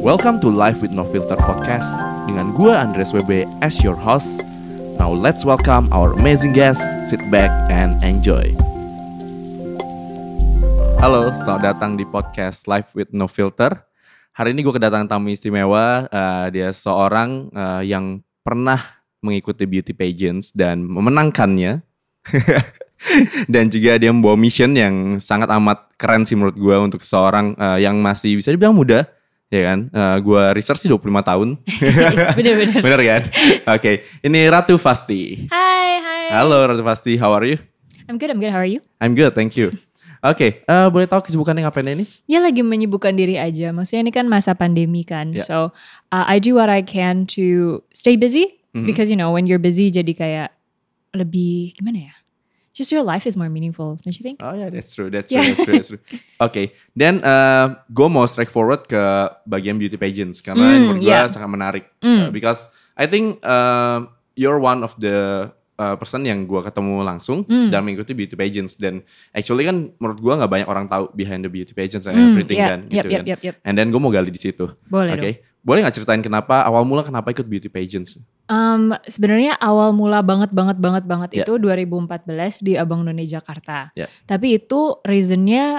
Welcome to Life with No Filter podcast dengan gue Andres WB as your host. Now let's welcome our amazing guest. Sit back and enjoy. Halo, selamat datang di podcast Life with No Filter. Hari ini gue kedatangan tamu istimewa. Dia seorang yang pernah mengikuti beauty pageants dan memenangkannya. Dan juga dia membawa mission yang sangat amat keren sih menurut gue untuk seorang yang masih bisa dibilang muda. Ya kan, gue research sih 25 tahun. Bener-bener. Bener kan? Oke, ini Ratu Fasti. Hai. Halo Ratu Fasti, how are you? I'm good. How are you? I'm good, thank you. Oke, boleh tahu kesibukannya ngapain ini? Ya lagi menyibukkan diri aja. Maksudnya ini kan masa pandemi kan. Yeah. So I do what I can to stay busy. Because you know when you're busy jadi kayak lebih gimana ya? Just your life is more meaningful, don't you think? Oh yeah, that's true. Oke, dan gue mau straightforward ke bagian beauty pageants karena menurut gue sangat menarik. Because I think you're one of the person yang gue ketemu langsung dan mengikuti beauty pageants. Dan actually kan menurut gue nggak banyak orang tahu behind the beauty pageants and everything kan. Yep. And then gue mau gali di situ. Boleh dong. Boleh nggak ceritain awal mula kenapa ikut beauty pageants? Sebenarnya awal mula banget itu 2014 di Abang None Jakarta. Tapi itu reasonnya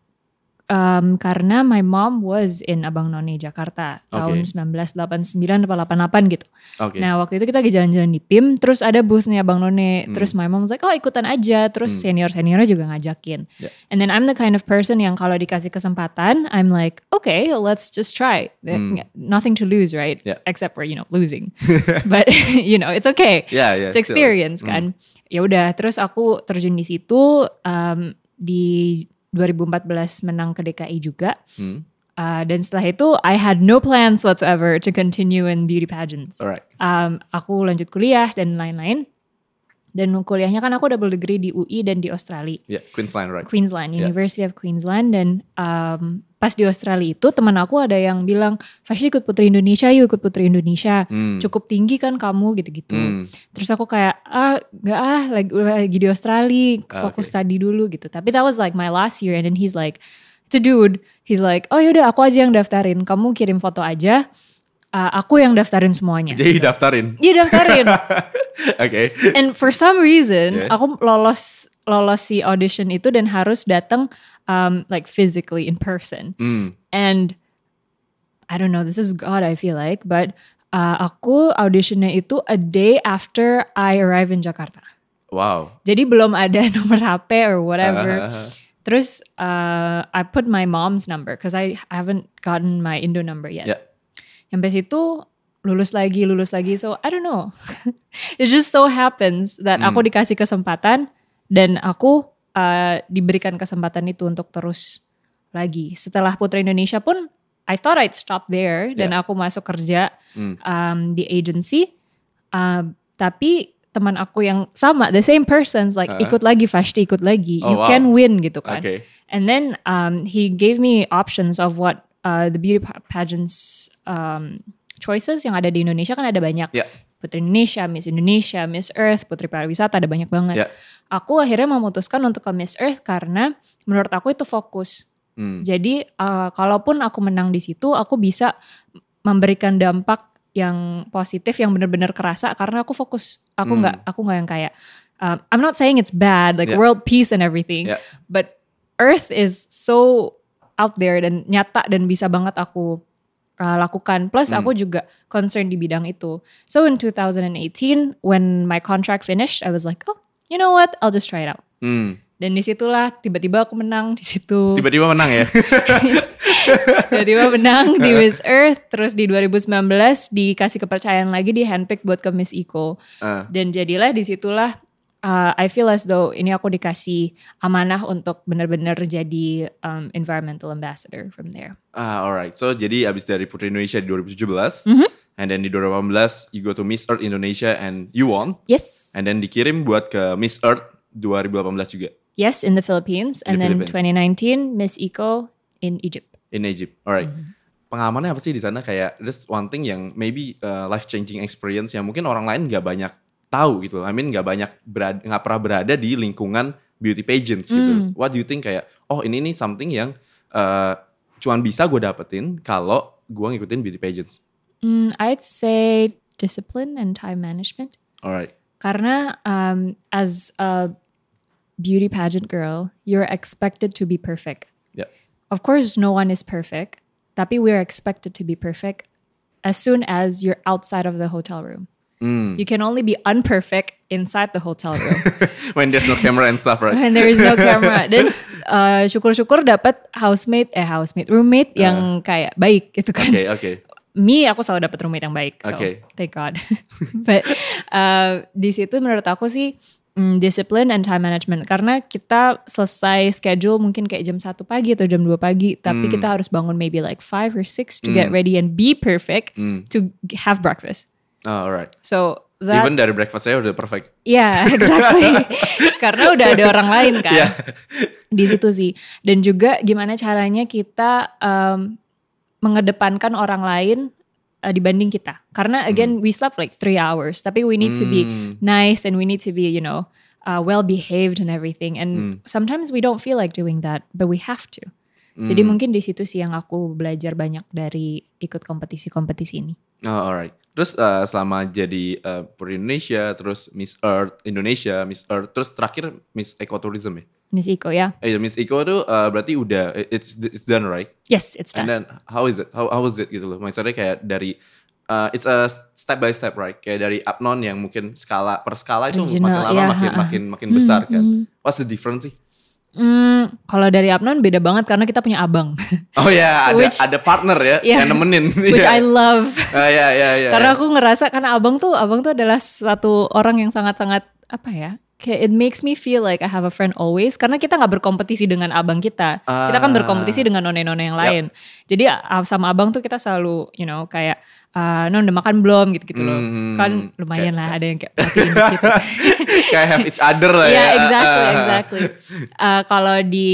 karena my mom was in Abang None Jakarta tahun 1989 atau 88 gitu. Nah waktu itu kita lagi jalan-jalan di PIM, terus ada boothnya Abang None, terus my mom was like, oh ikutan aja, terus senior-seniornya juga ngajakin. And then I'm the kind of person yang kalau dikasih kesempatan, I'm like, okay, let's just try. Nothing to lose, right? Except for losing. But it's okay. It's experience kan. Ya udah, terus aku terjun di situ di 2014 menang ke DKI juga. Dan setelah itu I had no plans whatsoever to continue in beauty pageants. Alright. Aku lanjut kuliah dan lain-lain. Dan kuliahnya kan aku double degree di UI dan di Australia. Queensland, right? Queensland, University of Queensland. Dan pas di Australia itu teman aku ada yang bilang, Fasya ikut Putri Indonesia yuk, ikut Putri Indonesia. Cukup tinggi kan kamu gitu-gitu. Terus aku kayak, lagi di Australia, fokus study dulu gitu. Tapi that was like my last year and then he's like, it's a dude. He's like, oh yaudah aku aja yang daftarin, kamu kirim foto aja. Aku yang daftarin semuanya. Jadi daftarin? Iya daftarin. Okay. And for some reason, aku lolos si audition itu dan harus datang like physically in person. And I don't know, this is God I feel like, but aku auditionnya itu a day after I arrive in Jakarta. Wow. Jadi belum ada nomor HP or whatever. Terus I put my mom's number because I haven't gotten my Indo number yet. Sampai situ lulus lagi. So I don't know. It just so happens that aku dikasih kesempatan dan aku diberikan kesempatan itu untuk terus lagi. Setelah Putri Indonesia pun I thought I'd stop there dan aku masuk kerja di agency. Tapi teman aku yang sama, the same persons like ikut lagi Fashti, ikut lagi. You can win gitu kan. And then he gave me options of what the beauty pageants choices yang ada di Indonesia kan ada banyak. Putri Indonesia, Miss Earth, Putri Pariwisata, ada banyak banget. Aku akhirnya memutuskan untuk ke Miss Earth karena menurut aku itu fokus. Jadi kalaupun aku menang di situ, aku bisa memberikan dampak yang positif yang benar-benar kerasa karena aku fokus. Aku nggak yang kayak I'm not saying it's bad like world peace and everything, but Earth is so out there dan nyata dan bisa banget aku lakukan. Plus aku juga concern di bidang itu. So in 2018 when my contract finished, I was like, oh, you know what? I'll just try it out. Dan disitulah tiba-tiba aku menang di situ. Tiba-tiba menang ya? Tiba-tiba menang di Miss Earth. Terus di 2019 dikasih kepercayaan lagi, di handpick buat ke Miss Eco. Dan jadilah disitulah I feel as though ini aku dikasih amanah untuk benar-benar jadi environmental ambassador from there. Alright, so jadi abis dari Putri Indonesia di 2017, and then di 2018 you go to Miss Earth Indonesia and you won. Yes. And then dikirim buat ke Miss Earth 2018 juga. Yes, in the Philippines. And then 2019 Miss Eco in Egypt. In Egypt, alright. Pengalamannya apa sih di sana? Kayak this one thing yang maybe life changing experience yang mungkin orang lain nggak banyak tahu gitu. I mean nggak pernah berada di lingkungan beauty pageants gitu. What do you think kayak ini something yang cuman bisa gue dapetin kalau gue ngikutin beauty pageants? I'd say discipline and time management. Alright. Karena as a beauty pageant girl, you're expected to be perfect. Yeah. Of course, no one is perfect, tapi we're expected to be perfect as soon as you're outside of the hotel room. You can only be unperfect inside the hotel room. When there's no camera and stuff, right? When there is no camera. Dan syukur-syukur dapat roommate yang kayak baik gitu kan. Okay. Aku selalu dapat roommate yang baik. So, thank God. But di situ menurut aku sih discipline and time management. Karena kita selesai schedule mungkin kayak jam 1 pagi atau jam 2 pagi. Tapi kita harus bangun maybe like 5 or 6 to get ready and be perfect to have breakfast. Oh, alright. So even dari breakfast saya udah perfect. Yeah, exactly. Karena udah ada orang lain kan. Yeah. Di situ sih. Dan juga gimana caranya kita mengedepankan orang lain dibanding kita. Karena again we slept like 3 hours. Tapi we need to be nice and we need to be well behaved and everything. And sometimes we don't feel like doing that, but we have to. Jadi mungkin di situ sih yang aku belajar banyak dari ikut kompetisi-kompetisi ini. Oh, alright. Terus selama jadi Putri Indonesia, terus Miss Earth Indonesia, Miss Earth, terus terakhir Miss Ecotourism ya? Miss Eco ya. Miss Eco tuh berarti udah it's done, right? Yes, it's done. And then how is it? How was it gitu loh? Maksudnya kayak dari it's a step by step, right? Kayak dari Apnon yang mungkin per skala itu Original, makin lama makin besar kan. What's the difference sih? Kalau dari Apnon beda banget karena kita punya abang. Oh ya, ada partner ya yang nemenin. Which I love. Ya. Karena aku ngerasa karena abang tuh adalah satu orang yang sangat-sangat apa ya? Kayak it makes me feel like I have a friend always. Karena kita gak berkompetisi dengan abang kita. Kita kan berkompetisi dengan none-none yang lain. Jadi sama abang tuh kita selalu kayak non udah makan belum gitu-gitu loh. Kan lumayan lah ada yang kayak perhatiin gitu. Kayak have each other lah ya. Yeah, exactly. Kalau di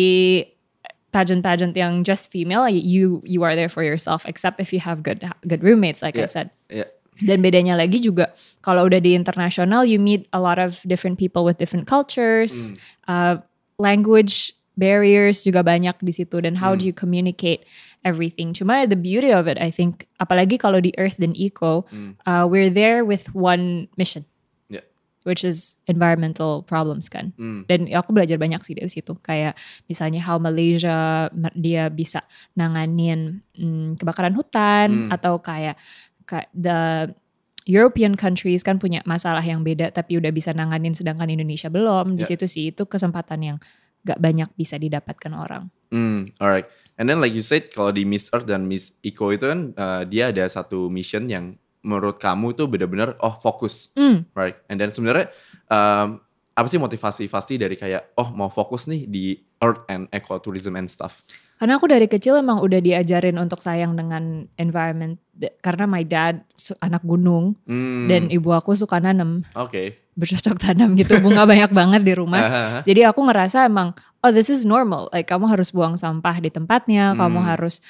pageant yang just female, you are there for yourself except if you have good roommates like I said. Yeah. Dan bedanya lagi juga kalau udah di internasional you meet a lot of different people with different cultures, language barriers juga banyak di situ dan how do you communicate everything. Cuma the beauty of it I think apalagi kalau di Earth dan Eco, we're there with one mission. Which is environmental problems kan. Dan aku belajar banyak sih dari situ. Kayak misalnya how Malaysia dia bisa nanganin kebakaran hutan atau kayak the European countries kan punya masalah yang beda tapi udah bisa nanganin sedangkan Indonesia belum. Di situ sih itu kesempatan yang gak banyak bisa didapatkan orang. Alright. And then like you said kalau di Miss Earth dan Miss Eco itu kan dia ada satu mission yang menurut kamu tuh benar-benar fokus, right? And then sebenarnya apa sih motivasi pasti dari kayak mau fokus nih di Earth and Ecotourism and stuff? Karena aku dari kecil emang udah diajarin untuk sayang dengan environment. Karena my dad anak gunung dan ibu aku suka nanam. Bercocok tanam gitu, bunga banyak banget di rumah. Jadi aku ngerasa emang this is normal. Like kamu harus buang sampah di tempatnya, kamu harus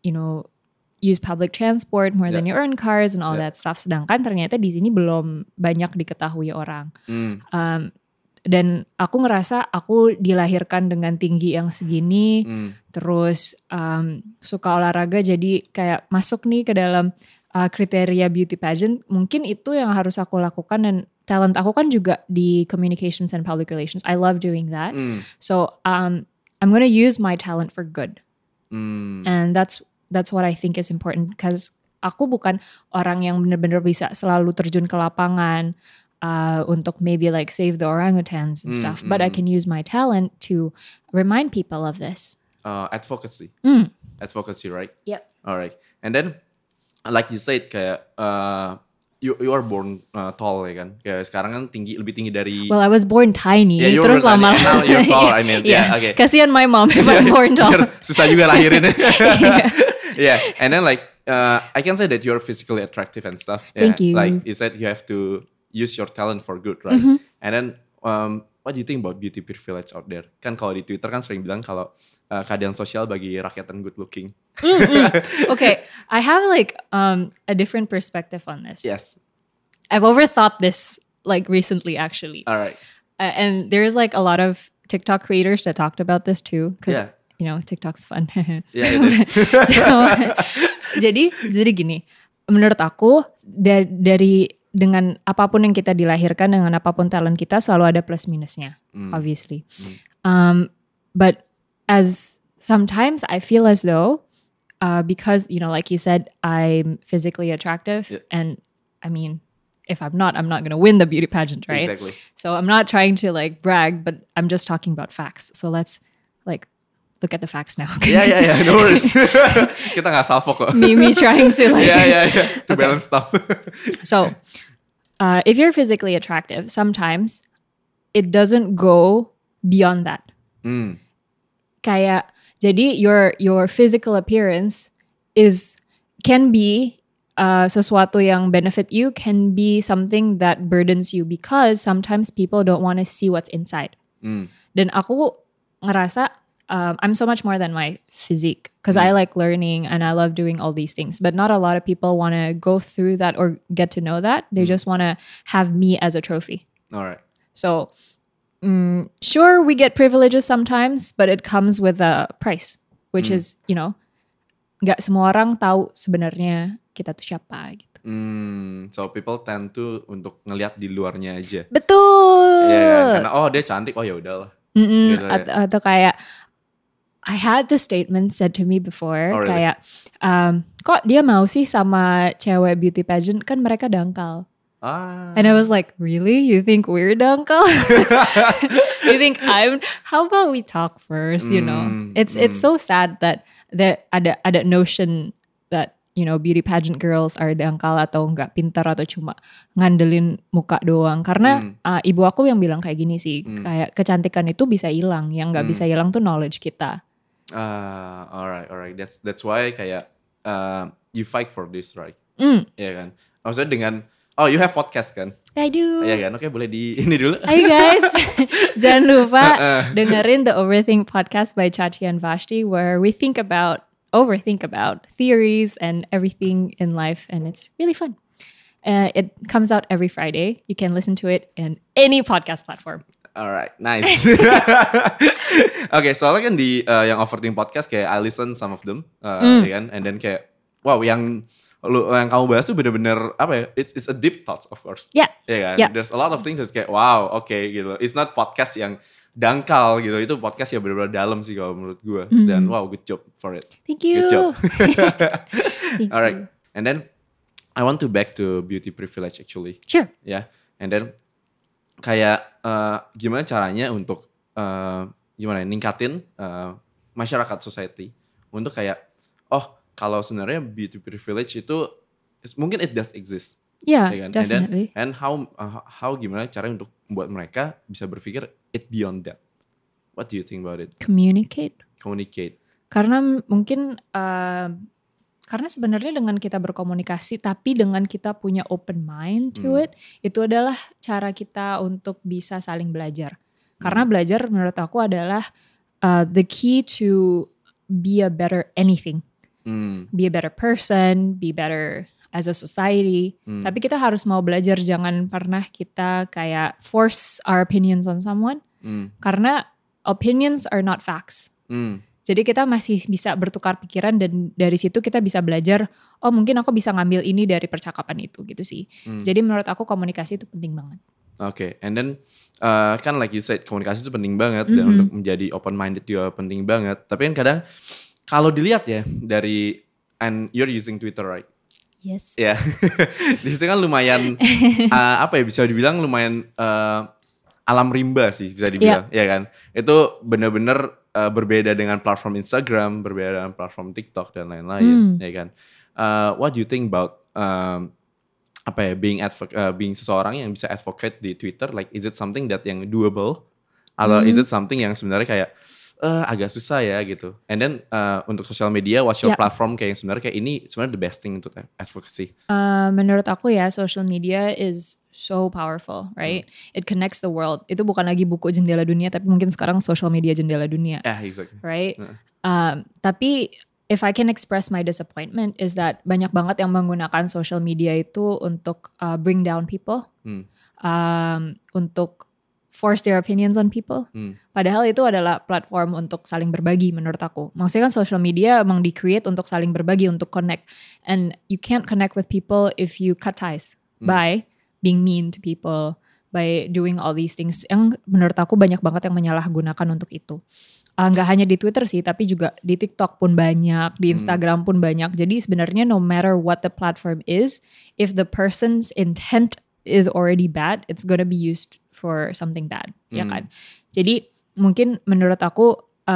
use public transport more than your own cars and all that stuff. Sedangkan ternyata di sini belum banyak diketahui orang. Dan aku ngerasa aku dilahirkan dengan tinggi yang segini, terus suka olahraga jadi kayak masuk nih ke dalam kriteria beauty pageant. Mungkin itu yang harus aku lakukan dan talent aku kan juga di communications and public relations. I love doing that. So I'm gonna use my talent for good. And that's what I think is important because aku bukan orang yang benar-benar bisa selalu terjun ke lapangan untuk maybe like save the orangutans and stuff, but I can use my talent to remind people of this. Advocacy. Advocacy, right? Yep. Alright. And then like you said kayak you are born tall ya kan. Kayak sekarang kan lebih tinggi dari. Well, I was born tiny. Terus lama-lama. Now you're tall, I mean. Yeah, okay. Kasihan my mom if I'm born tall. Susah juga lahirin. Yeah. And then like I can say that you're physically attractive and stuff. Thank you. Like you said, you have to use your talent for good, right? And then what do you think about beauty privilege out there? Kan kalau di Twitter kan sering bilang kalau keadaan sosial bagi rakyat yang good looking. Okay, I have like a different perspective on this. Yes. I've overthought this like recently actually. All right. And there's like a lot of TikTok creators that talked about this too. Because TikTok's fun. Yeah, it is. jadi gini, menurut aku dari dengan apapun yang kita dilahirkan, dengan apapun talent kita selalu ada plus minusnya, obviously. But as sometimes I feel as though because like you said, I'm physically attractive, and I mean, if I'm not gonna win the beauty pageant, right? Exactly. So I'm not trying to like brag, but I'm just talking about facts. So let's like look at the facts now. Okay? Yeah, no worries. Kita nggak salfok kok. me trying to like to balance stuff. So if you're physically attractive, sometimes it doesn't go beyond that. Kayak jadi your physical appearance can be sesuatu yang benefit you, can be something that burdens you because sometimes people don't want to see what's inside. Dan aku ngerasa I'm so much more than my physique because I like learning and I love doing all these things. But not a lot of people want to go through that or get to know that. They just want to have me as a trophy. All right. So sure, we get privileges sometimes, but it comes with a price, which is, nggak semua orang tahu sebenarnya kita tuh siapa gitu. So people tend to untuk ngelihat di luarnya aja. Betul. Karena dia cantik, ya udahlah. Gitu, atau kayak I had the statement said to me before, really? Kayak kok dia mau sih sama cewek beauty pageant, kan mereka dangkal. And I was like, really? You think we're dangkal? You think how about we talk first, It's so sad that ada notion that beauty pageant girls are dangkal atau nggak pintar atau cuma ngandelin muka doang. Karena ibu aku yang bilang kayak gini sih, kayak kecantikan itu bisa hilang, yang nggak bisa hilang tuh knowledge kita. Alright. That's why kayak you fight for this, right? Iya kan. Maksudnya dengan you have podcast kan? I do. Iya kan? Oke, boleh di ini dulu. Hai guys, jangan lupa dengerin the Overthink podcast by Chachi and Vashti, where we overthink about theories and everything in life, and it's really fun. It comes out every Friday. You can listen to it in any podcast platform. Alright, nice. Okay, soalnya kan di yang Overthink podcast kayak I listen some of them, ya kan, and then kayak wow, yang kamu bahas tuh bener-bener apa ya? It's a deep thoughts, of course. Yeah. Ya kan. Yeah. There's a lot of things that's kayak wow, okay gitu. It's not podcast yang dangkal gitu. Itu podcast yang bener-bener dalam sih kalau menurut gue. Dan wow, good job for it. Thank you. Good job. Thank Alright. you. And then I want to back to beauty privilege actually. Sure. Ya. And then kayak gimana caranya untuk ningkatin masyarakat society untuk kayak kalau sebenarnya beauty privilege itu mungkin it does exist. Yeah, ya kan? definitely. And how gimana caranya untuk membuat mereka bisa berpikir it beyond that. What do you think about it? Communicate. Karena mungkin karena sebenarnya dengan kita berkomunikasi tapi dengan kita punya open mind to it, itu adalah cara kita untuk bisa saling belajar. Karena belajar menurut aku adalah the key to be a better anything. Be a better person, be better as a society. Tapi kita harus mau belajar, jangan pernah kita kayak force our opinions on someone. Karena opinions are not facts. Jadi kita masih bisa bertukar pikiran dan dari situ kita bisa belajar, mungkin aku bisa ngambil ini dari percakapan itu gitu sih. Jadi menurut aku komunikasi itu penting banget. Okay, and then kan like you said komunikasi itu penting banget dan untuk menjadi open minded juga penting banget. Tapi kan kadang kalau dilihat ya dari, and you're using Twitter, right? Yes. Ya, yeah. Di situ kan lumayan bisa dibilang lumayan alam rimba sih bisa dibilang, ya kan? Itu benar-benar berbeda dengan platform Instagram, berbeda dengan platform TikTok dan lain-lain, ya kan? What do you think about being seseorang yang bisa advocate di Twitter? Like, is it something that yang doable? Atau is it something yang sebenarnya kayak agak susah ya gitu. And then untuk social media, what's your platform kayak yang sebenarnya kayak ini sebenarnya the best thing untuk advocacy? Menurut aku ya, social media is so powerful, right? It connects the world. Itu bukan lagi buku jendela dunia, tapi mungkin sekarang social media jendela dunia. Yeah, exactly. Right? Tapi if I can express my disappointment is that banyak banget yang menggunakan social media itu untuk bring down people, untuk force their opinions on people. Padahal itu adalah platform untuk saling berbagi menurut aku. Maksudnya kan social media emang di-create untuk saling berbagi, untuk connect. And you can't connect with people if you cut ties by being mean to people, by doing all these things. Yang menurut aku banyak banget yang menyalahgunakan untuk itu. Nggak hanya di Twitter sih, tapi juga di TikTok pun banyak, di Instagram pun banyak. Jadi sebenarnya no matter what the platform is, if the person's intent is already bad, it's gonna be used for something bad, ya kan? Jadi mungkin menurut aku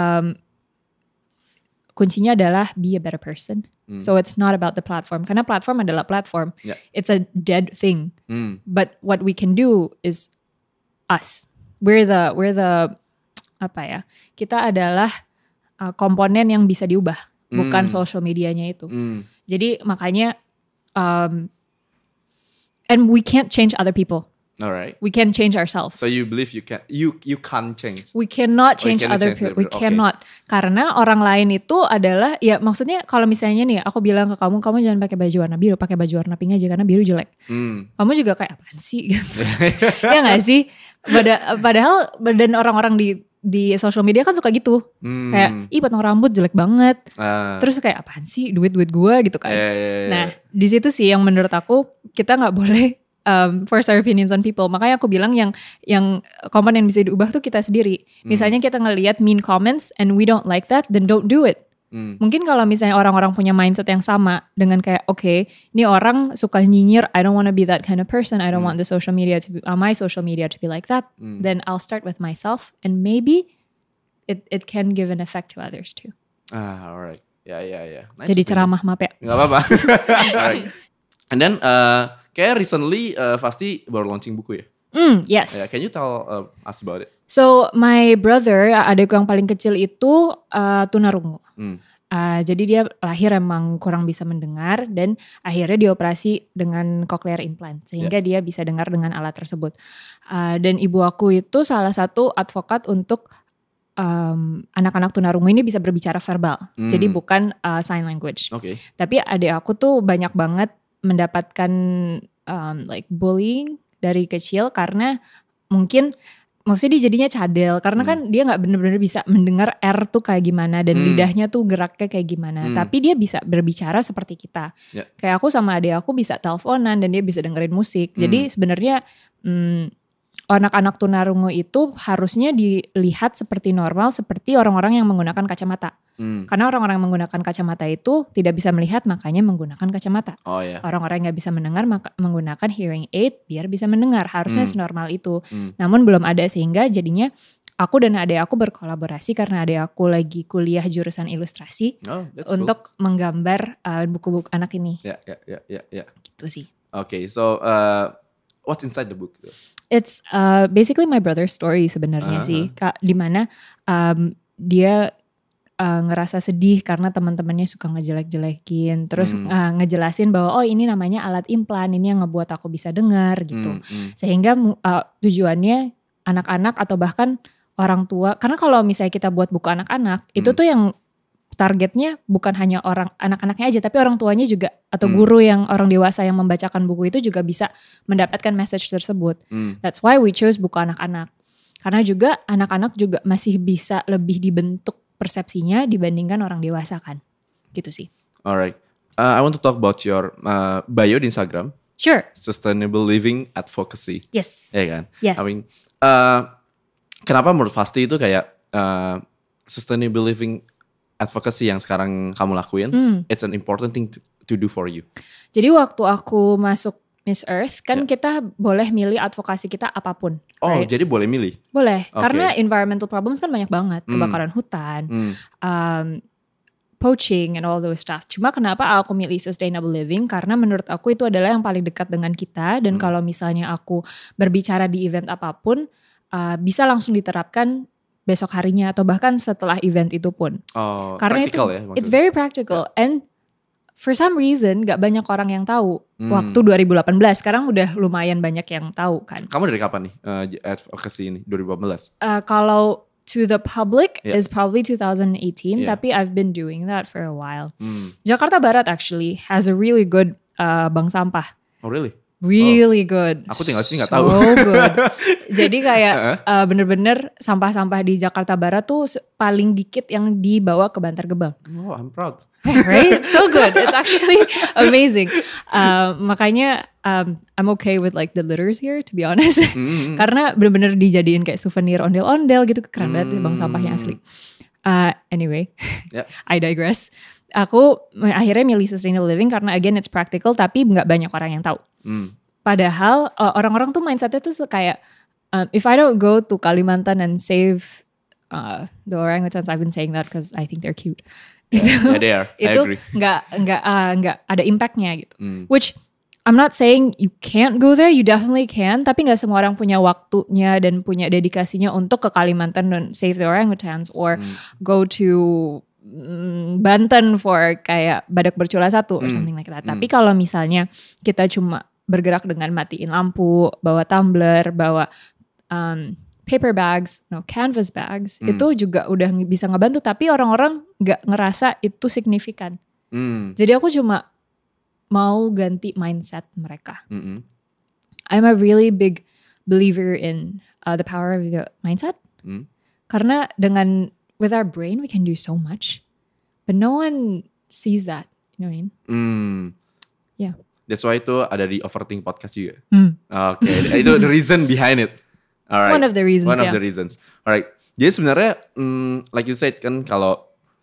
kuncinya adalah be a better person. So it's not about the platform, karena platform adalah platform. It's a dead thing. But what we can do is us. We're the apa ya? Kita adalah komponen yang bisa diubah, bukan social medianya itu. Jadi makanya and we can't change other people. Alright. We can change ourselves. So you believe you can't change. We cannot change other people. We cannot. Karena orang lain itu adalah, ya maksudnya kalau misalnya nih aku bilang ke kamu jangan pakai baju warna biru, pakai baju warna pink aja karena biru jelek. Kamu juga kayak apaan sih? Ya nggak sih? Padahal dan orang-orang di social media kan suka gitu. Kayak potong rambut jelek banget. Terus kayak apaan sih duit gue gitu kan. Nah di situ sih yang menurut aku kita nggak boleh force our opinions on people. Makanya aku bilang yang komponen yang bisa diubah tuh kita sendiri. Misalnya kita ngelihat mean comments and we don't like that, then don't do it. Mungkin kalau misalnya orang-orang punya mindset yang sama dengan kayak okay, ini orang suka nyinyir, I don't want to be that kind of person. I don't want the social media to be, my social media to be like that. Then I'll start with myself and maybe it can give an effect to others too. Alright. Yeah. Nice. Jadi ceramah maaf ya. Gak apa-apa. Alright. And then kayak recently Fasti baru launching buku ya? Yes. Can you tell us about it? So my brother, adikku yang paling kecil itu tunarungu. Jadi dia lahir emang kurang bisa mendengar dan akhirnya dioperasi dengan cochlear implant sehingga dia bisa dengar dengan alat tersebut. Dan ibu aku itu salah satu advokat untuk anak-anak tunarungu ini bisa berbicara verbal. Jadi bukan sign language. Okay. Tapi adik aku tuh banyak banget mendapatkan like bullying dari kecil karena maksudnya dia jadinya cadel karena kan dia nggak benar-benar bisa mendengar R tuh kayak gimana dan lidahnya tuh geraknya kayak gimana. Tapi dia bisa berbicara seperti kita. Kayak aku sama adik aku bisa teleponan dan dia bisa dengerin musik. Jadi sebenarnya anak-anak tunarungu itu harusnya dilihat seperti normal seperti orang-orang yang menggunakan kacamata. Karena orang-orang yang menggunakan kacamata itu tidak bisa melihat makanya menggunakan kacamata. Orang-orang yang gak bisa mendengar menggunakan hearing aid biar bisa mendengar. Harusnya senormal itu. Namun belum ada sehingga jadinya aku dan adik aku berkolaborasi karena adik aku lagi kuliah jurusan ilustrasi untuk menggambar buku-buku anak ini. Ya. Gitu sih. Okay, so what's inside the book? It's basically my brother's story sebenarnya sih, Kak, dimana dia ngerasa sedih karena teman-temannya suka ngejelek-jelekin, terus ngejelasin bahwa ini namanya alat implan, ini yang ngebuat aku bisa dengar gitu, sehingga tujuannya anak-anak atau bahkan orang tua, karena kalau misalnya kita buat buku anak-anak itu tuh yang targetnya bukan hanya orang anak-anaknya aja tapi orang tuanya juga atau guru yang orang dewasa yang membacakan buku itu juga bisa mendapatkan message tersebut. That's why we chose buku anak-anak. Karena juga anak-anak juga masih bisa lebih dibentuk persepsinya dibandingkan orang dewasa kan. Gitu sih. Alright. I want to talk about your bio di Instagram. Sure. Sustainable Living Advocacy. Yes. Ya kan? Yes. I mean, kenapa menurut Fasti itu kayak sustainable living advocacy yang sekarang kamu lakuin, it's an important thing to do for you. Jadi waktu aku masuk Miss Earth, kan kita boleh milih advokasi kita apapun. Oh, right? Jadi boleh milih? Boleh, karena environmental problems kan banyak banget. Kebakaran hutan, poaching and all those stuff. Cuma kenapa aku milih sustainable living? Karena menurut aku itu adalah yang paling dekat dengan kita. Dan kalau misalnya aku berbicara di event apapun, bisa langsung diterapkan besok harinya atau bahkan setelah event itu pun. Karena itu ya, it's very practical and for some reason gak banyak orang yang tahu. Waktu 2018 sekarang udah lumayan banyak yang tahu kan. Kamu dari kapan nih advocacy ini 2018? Kalau to the public is probably 2018 tapi I've been doing that for a while. Jakarta Barat actually has a really good bank sampah. Oh really? Really good. Aku tinggal sini gak tahu. So good. Jadi kayak bener-bener sampah-sampah di Jakarta Barat tuh paling dikit yang dibawa ke Bantar Gebang. Oh, I'm proud. Right? So good. It's actually amazing. Makanya I'm okay with like the litters here, to be honest. Karena bener-bener dijadiin kayak souvenir ondel-ondel gitu. Keren banget bang sampahnya asli. Anyway, I digress. Aku akhirnya milih sustainable living karena again it's practical tapi nggak banyak orang yang tahu. Padahal orang-orang tuh mindsetnya tuh kayak if I don't go to Kalimantan and save the orangutans, I've been saying that because I think they're cute. Yeah, they are. I agree. Itu nggak ada impactnya gitu. Which I'm not saying you can't go there, you definitely can. Tapi nggak semua orang punya waktunya dan punya dedikasinya untuk ke Kalimantan dan save the orangutans or go to Banten for kayak badak bercula 1 or something like that. Tapi kalau misalnya kita cuma bergerak dengan matiin lampu, bawa tumbler, bawa paper bags, canvas bags, itu juga udah bisa ngebantu. Tapi orang-orang nggak ngerasa itu signifikan. Jadi aku cuma mau ganti mindset mereka. I'm a really big believer in the power of the mindset. Karena with our brain we can do so much, but no one sees that. You know what I mean? Yeah. That's why itu ada di Overthink podcast juga. Okay, itu the reason behind it. Alright. One of the reasons. One of the reasons. Alright. Jadi sebenarnya, like you said kan kalau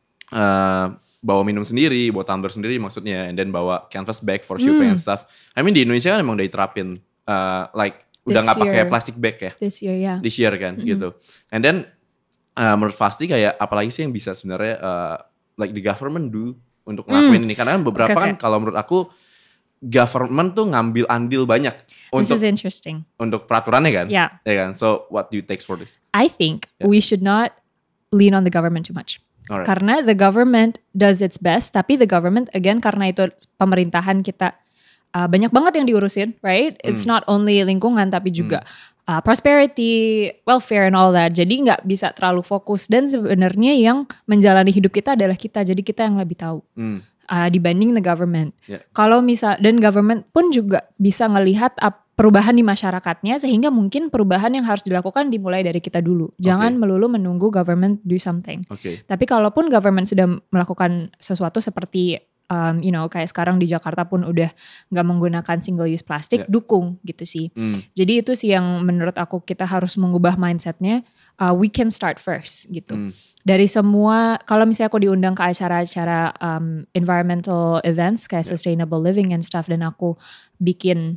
bawa minum sendiri, bawa tumbler sendiri maksudnya, and then bawa canvas bag for shipping and stuff. I mean di Indonesia kan emang udah diterapin, like udah nggak pakai plastic bag ya. This year, yeah. This year kan, gitu. And then menurut Fasti kayak apalagi sih yang bisa sebenarnya like the government do untuk ngelakuin ini, karena beberapa kan kalau menurut aku government tuh ngambil andil banyak This is interesting. Untuk peraturannya kan, ya kan. So what do you take for this? I think we should not lean on the government too much. Alright. Karena the government does its best, tapi the government again karena itu pemerintahan kita banyak banget yang diurusin, right? It's not only lingkungan tapi juga prosperity, welfare and all that. Jadi nggak bisa terlalu fokus dan sebenarnya yang menjalani hidup kita adalah kita. Jadi kita yang lebih tahu dibanding the government. Kalau dan government pun juga bisa ngelihat perubahan di masyarakatnya sehingga mungkin perubahan yang harus dilakukan dimulai dari kita dulu. Jangan melulu menunggu government do something. Tapi kalaupun government sudah melakukan sesuatu seperti kayak sekarang di Jakarta pun udah nggak menggunakan single use plastic, dukung gitu sih. Jadi itu sih yang menurut aku kita harus mengubah mindsetnya. We can start first gitu. Dari semua, kalau misalnya aku diundang ke acara-acara environmental events kayak sustainable living and stuff dan aku bikin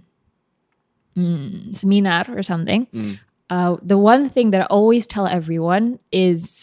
seminar or something, the one thing that I always tell everyone is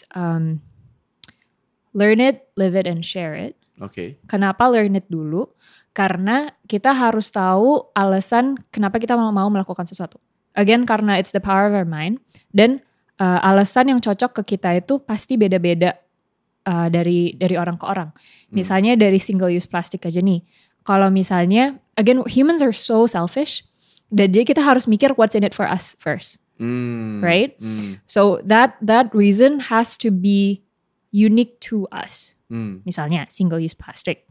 learn it, live it, and share it. Kenapa learn it dulu? Karena kita harus tahu alasan kenapa kita mau melakukan sesuatu. Again, karena it's the power of our mind. Dan alasan yang cocok ke kita itu pasti beda-beda dari orang ke orang. Misalnya dari single use plastic aja nih. Kalau misalnya, again, humans are so selfish. Dan jadi kita harus mikir what's in it for us first. Right? So that reason has to be unique to us. Misalnya single use plastic.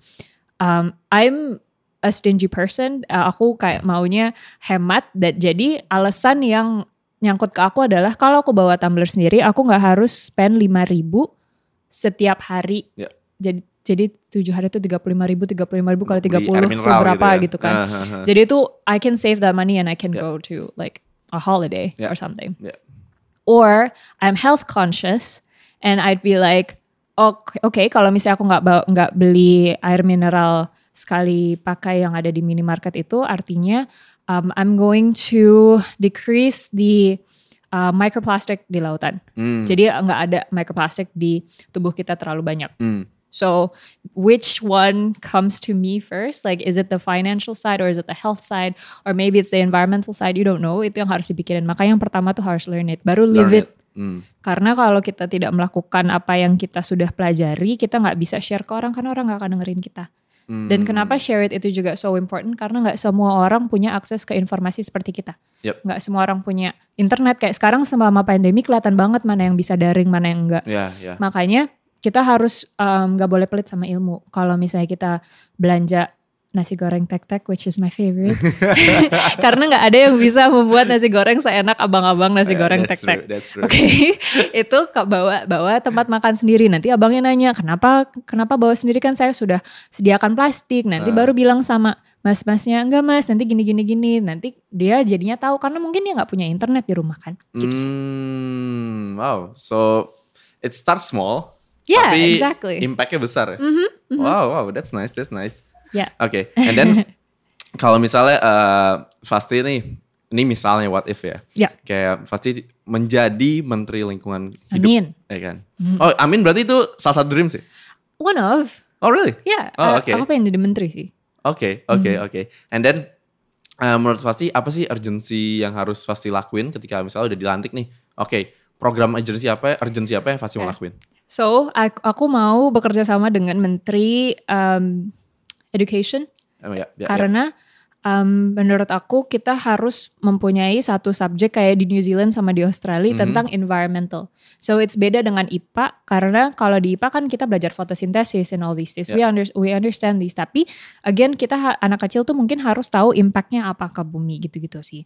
I'm a stingy person. Aku kayak maunya hemat. Dan jadi alasan yang nyangkut ke aku adalah kalau aku bawa tumbler sendiri, aku nggak harus spend 5.000 setiap hari. Jadi 7 hari itu 35.000 kali 30 itu berapa gitu kan. Jadi itu I can save that money and I can go to like a holiday or something. Or I'm health conscious and I'd be like, okay, kalau misalnya aku nggak beli air mineral sekali pakai yang ada di minimarket itu, artinya I'm going to decrease the microplastic di lautan. Jadi nggak ada microplastic di tubuh kita terlalu banyak. So which one comes to me first? Like is it the financial side or is it the health side? Or maybe it's the environmental side, you don't know. Itu yang harus dipikirin. Makanya yang pertama tuh harus learn it, baru live it. Karena kalau kita tidak melakukan apa yang kita sudah pelajari, kita gak bisa share ke orang karena orang gak akan dengerin kita. Dan kenapa share it itu juga so important? Karena gak semua orang punya akses ke informasi seperti kita. Gak semua orang punya internet. Kayak sekarang selama pandemi kelihatan banget mana yang bisa daring, mana yang enggak. Makanya kita harus gak boleh pelit sama ilmu. Kalau misalnya kita belanja nasi goreng tek-tek, which is my favorite. Karena nggak ada yang bisa membuat nasi goreng seenak abang-abang nasi goreng tek-tek. Oke, itu bawa tempat makan sendiri. Nanti abangnya nanya, kenapa bawa sendiri, kan saya sudah sediakan plastik. Nanti baru bilang sama mas-masnya, enggak mas, nanti gini. Nanti dia jadinya tahu, karena mungkin dia nggak punya internet di rumah kan. Gitu. Wow, so it starts small. Yeah, tapi exactly. Impactnya besar ya. Wow, that's nice. Yeah. Oke, and then kalau misalnya Fasti ini misalnya what if ya. Yeah. Kayak Fasti menjadi Menteri Lingkungan Hidup. Amin. Ya kan? Oh, amin berarti itu salah satu dream sih? One of. Oh really? Yeah, okay. aku pengen jadi menteri sih. Oke. And then menurut Fasti apa sih urgency yang harus Fasti lakuin ketika misalnya udah dilantik nih? Oke, program urgency apa yang Fasti mau lakuin? So, aku mau bekerja sama dengan Menteri Education. Karena menurut aku kita harus mempunyai satu subjek kayak di New Zealand sama di Australia tentang environmental. So it's beda dengan IPA, karena kalau di IPA kan kita belajar fotosintesis and all these things. We understand these. Tapi again kita anak kecil tuh mungkin harus tahu impactnya apa ke bumi gitu-gitu sih.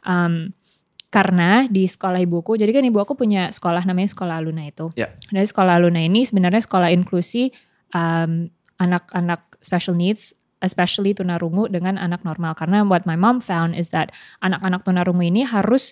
Karena di sekolah ibuku, jadi kan ibu aku punya sekolah namanya Sekolah Aluna itu. Dari Sekolah Aluna ini sebenarnya sekolah inklusi anak-anak special needs, especially tunarungu dengan anak normal. Karena what my mom found is that anak-anak tunarungu ini harus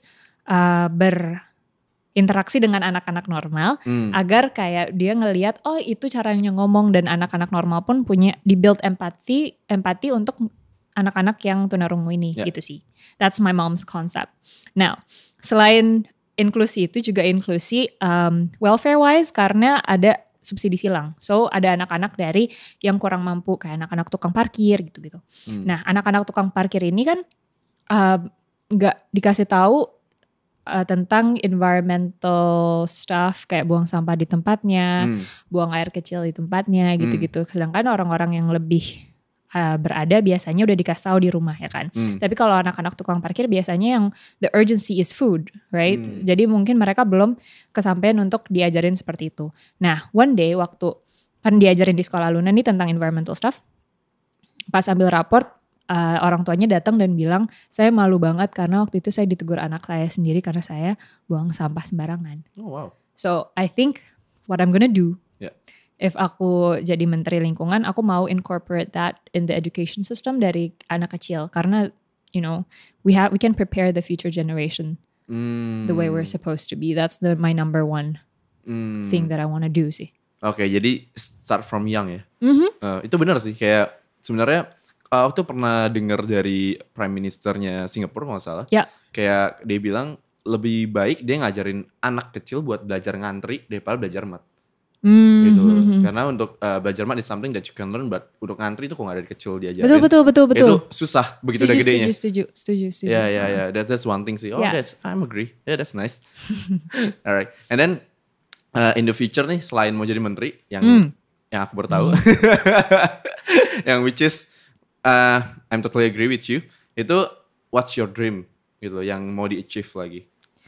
berinteraksi dengan anak-anak normal agar kayak dia ngelihat, oh itu caranya ngomong, dan anak-anak normal pun punya di-build empati untuk anak-anak yang tunarungu ini gitu sih. That's my mom's concept. Now, selain inklusi itu juga inklusi welfare wise, karena ada subsidi silang. So ada anak-anak dari yang kurang mampu, kayak anak-anak tukang parkir gitu-gitu. Nah, anak-anak tukang parkir ini kan gak dikasih tahu tentang environmental stuff, kayak buang sampah di tempatnya, buang air kecil di tempatnya gitu-gitu. Sedangkan orang-orang yang lebih berada biasanya udah dikasih tahu di rumah ya kan. Tapi kalau anak-anak tukang parkir biasanya yang the urgency is food, right? Jadi mungkin mereka belum kesampaian untuk diajarin seperti itu. Nah, one day waktu kan diajarin di Sekolah Luna nih tentang environmental stuff, pas ambil raport orang tuanya datang dan bilang, saya malu banget karena waktu itu saya ditegur anak saya sendiri karena saya buang sampah sembarangan. Oh wow. So I think what I'm gonna do, if aku jadi menteri lingkungan, aku mau incorporate that in the education system dari anak kecil, karena you know we can prepare the future generation the way we're supposed to be. That's my number one thing that I wanna do sih. Oke, jadi start from young ya. Itu benar sih, kayak sebenarnya aku tuh pernah dengar dari Prime Ministernya Singapura kalau nggak salah. Kayak dia bilang lebih baik dia ngajarin anak kecil buat belajar ngantri daripada belajar mat. Gitu. Karena untuk belajar mat is something that you can learn, but untuk ngantri itu kok gak dari kecil diajarin. Betul. Itu susah begitu udah gedenya. Setuju. Yeah. That's one thing sih. I'm agree. Yeah, that's nice. Alright. And then in the future nih, selain mau jadi menteri yang aku baru tahu, yang which is I'm totally agree with you. Itu what's your dream gitu, yang mau di-achieve lagi?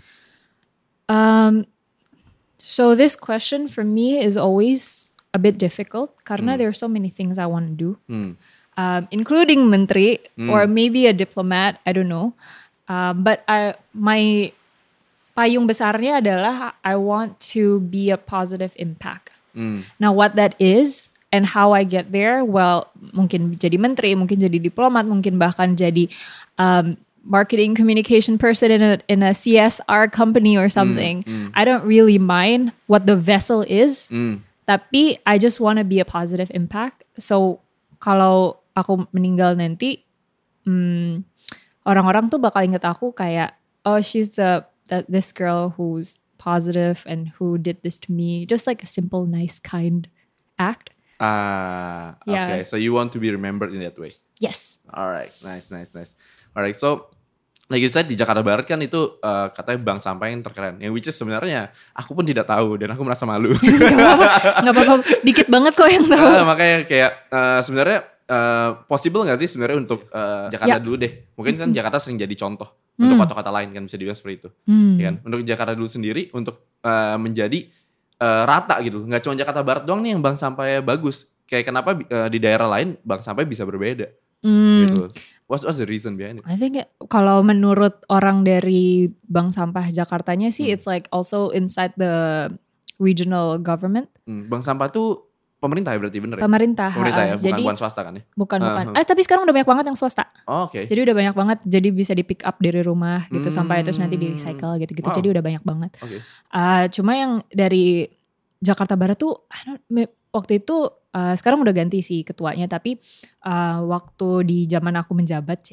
So this question for me is always a bit difficult karena there are so many things I want to do, including menteri or maybe a diplomat, I don't know. But my payung besarnya adalah I want to be a positive impact. Now what that is and how I get there, well mungkin jadi menteri, mungkin jadi diplomat, mungkin bahkan jadi marketing communication person in a CSR company or something. I don't really mind what the vessel is, tapi I just want to be a positive impact. So kalau aku meninggal nanti, orang-orang tuh bakal inget aku kayak, oh she's this girl who's positive and who did this to me, just like a simple, nice, kind act. Okay. So you want to be remembered in that way? Yes. Alright, nice. Alright, so like you said di Jakarta Barat kan itu katanya bank sampah yang terkeren. Yang which is sebenarnya aku pun tidak tahu dan aku merasa malu. Gak apa-apa, dikit banget kok yang tahu. Makanya kayak sebenarnya possible gak sih sebenarnya untuk Jakarta dulu deh. Mungkin kan Jakarta sering jadi contoh untuk kota-kota lain kan, bisa dibilang seperti itu. Ya kan? Untuk Jakarta dulu sendiri untuk menjadi rata gitu. Gak cuma Jakarta Barat doang nih yang bank sampahnya bagus. Kayak kenapa di daerah lain bank sampahnya bisa berbeda. Gitu. What's the reason behind it? I think kalau menurut orang dari Bank Sampah Jakartanya sih, it's like also inside the regional government. Bank Sampah tuh pemerintah ya berarti bener ya? Pemerintah ya, jadi, bukan swasta kan ya? Bukan. Tapi sekarang udah banyak banget yang swasta. Oke. Jadi udah banyak banget, jadi bisa di pick up dari rumah gitu sampai terus nanti di recycle gitu-gitu. Jadi udah banyak banget. Cuma yang dari Jakarta Barat tuh waktu itu sekarang udah ganti sih ketuanya, tapi waktu di zaman aku menjabat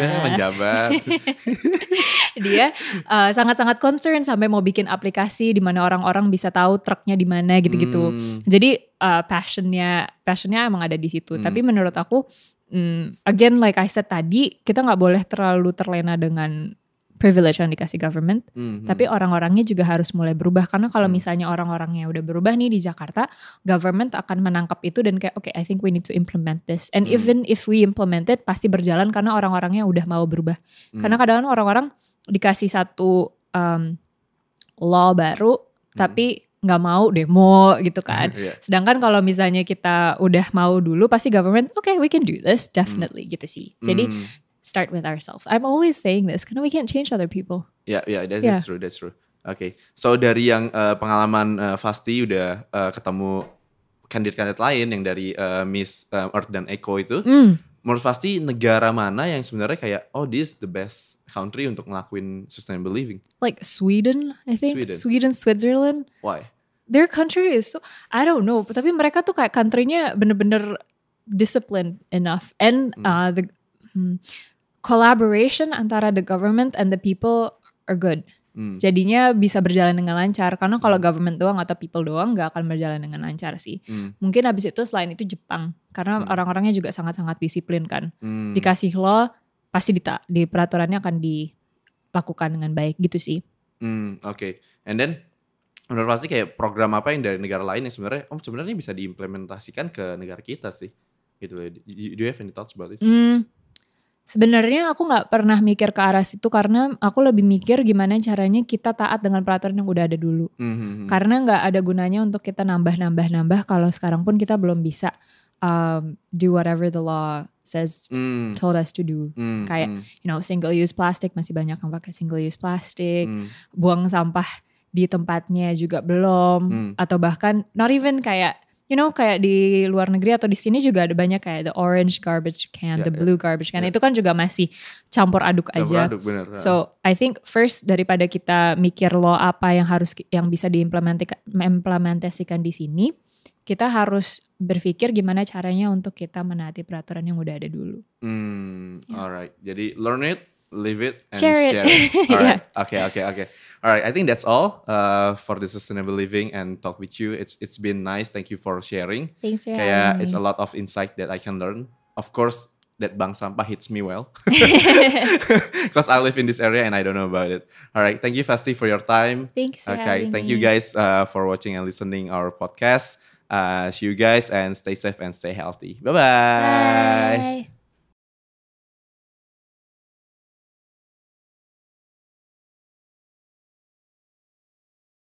dia sangat-sangat concern sampai mau bikin aplikasi di mana orang-orang bisa tahu truknya di mana gitu-gitu. Jadi passionnya emang ada di situ. Tapi menurut aku again like I said tadi, kita nggak boleh terlalu terlena dengan privilege yang dikasih government, tapi orang-orangnya juga harus mulai berubah, karena kalau misalnya orang-orangnya udah berubah nih di Jakarta, government akan menangkap itu dan kayak okay, I think we need to implement this, and even if we implement it pasti berjalan karena orang-orangnya udah mau berubah. Karena kadang-kadang orang-orang dikasih satu law baru tapi nggak mau demo gitu kan. Sedangkan kalau misalnya kita udah mau dulu, pasti government okay we can do this definitely gitu sih. Jadi start with ourselves. I'm always saying this karena we can't change other people. That's true. Okay. So dari yang pengalaman Fasti udah ketemu kandidat lain yang dari Miss Earth dan Eco itu, menurut Fasti negara mana yang sebenarnya kayak this is the best country untuk ngelakuin sustainable living? Like Sweden, I think. Sweden, Switzerland. Why? Their country is so, I don't know, tapi mereka tuh kayak country-nya bener-bener disciplined enough, and the collaboration antara the government and the people are good. Jadinya bisa berjalan dengan lancar. Karena kalau government doang atau people doang gak akan berjalan dengan lancar sih. Mungkin habis itu selain itu Jepang. Karena orang-orangnya juga sangat-sangat disiplin kan. Dikasih law pasti di peraturannya akan dilakukan dengan baik gitu sih. Okay. And then menurut pasti kayak program apa yang dari negara lain yang sebenarnya bisa diimplementasikan ke negara kita sih. Gitu. Do you have any thoughts about it? Sebenarnya aku nggak pernah mikir ke arah situ, karena aku lebih mikir gimana caranya kita taat dengan peraturan yang udah ada dulu. Karena nggak ada gunanya untuk kita nambah kalau sekarang pun kita belum bisa do whatever the law says told us to do. Kayak single use plastic, masih banyak yang pakai single use plastic. Buang sampah di tempatnya juga belum, atau bahkan not even kayak kayak di luar negeri atau di sini juga ada banyak kayak the orange garbage can, the blue garbage can. Itu kan juga masih campur aduk aja. Bener. So I think first daripada kita mikir law apa yang bisa diimplementasikan di sini, kita harus berpikir gimana caranya untuk kita menaati peraturan yang udah ada dulu. Alright. Jadi learn it, live it, and share it. Alright. Okay. Alright, I think that's all for the sustainable living and talk with you. It's been nice. Thank you for sharing. Thanks for having me. It's a lot of insight that I can learn. Of course, that Bank Sampah hits me well because I live in this area and I don't know about it. Alright, thank you Fasti for your time. Thanks for having me. Thank you guys for watching and listening our podcast. See you guys and stay safe and stay healthy. Bye-bye. Bye.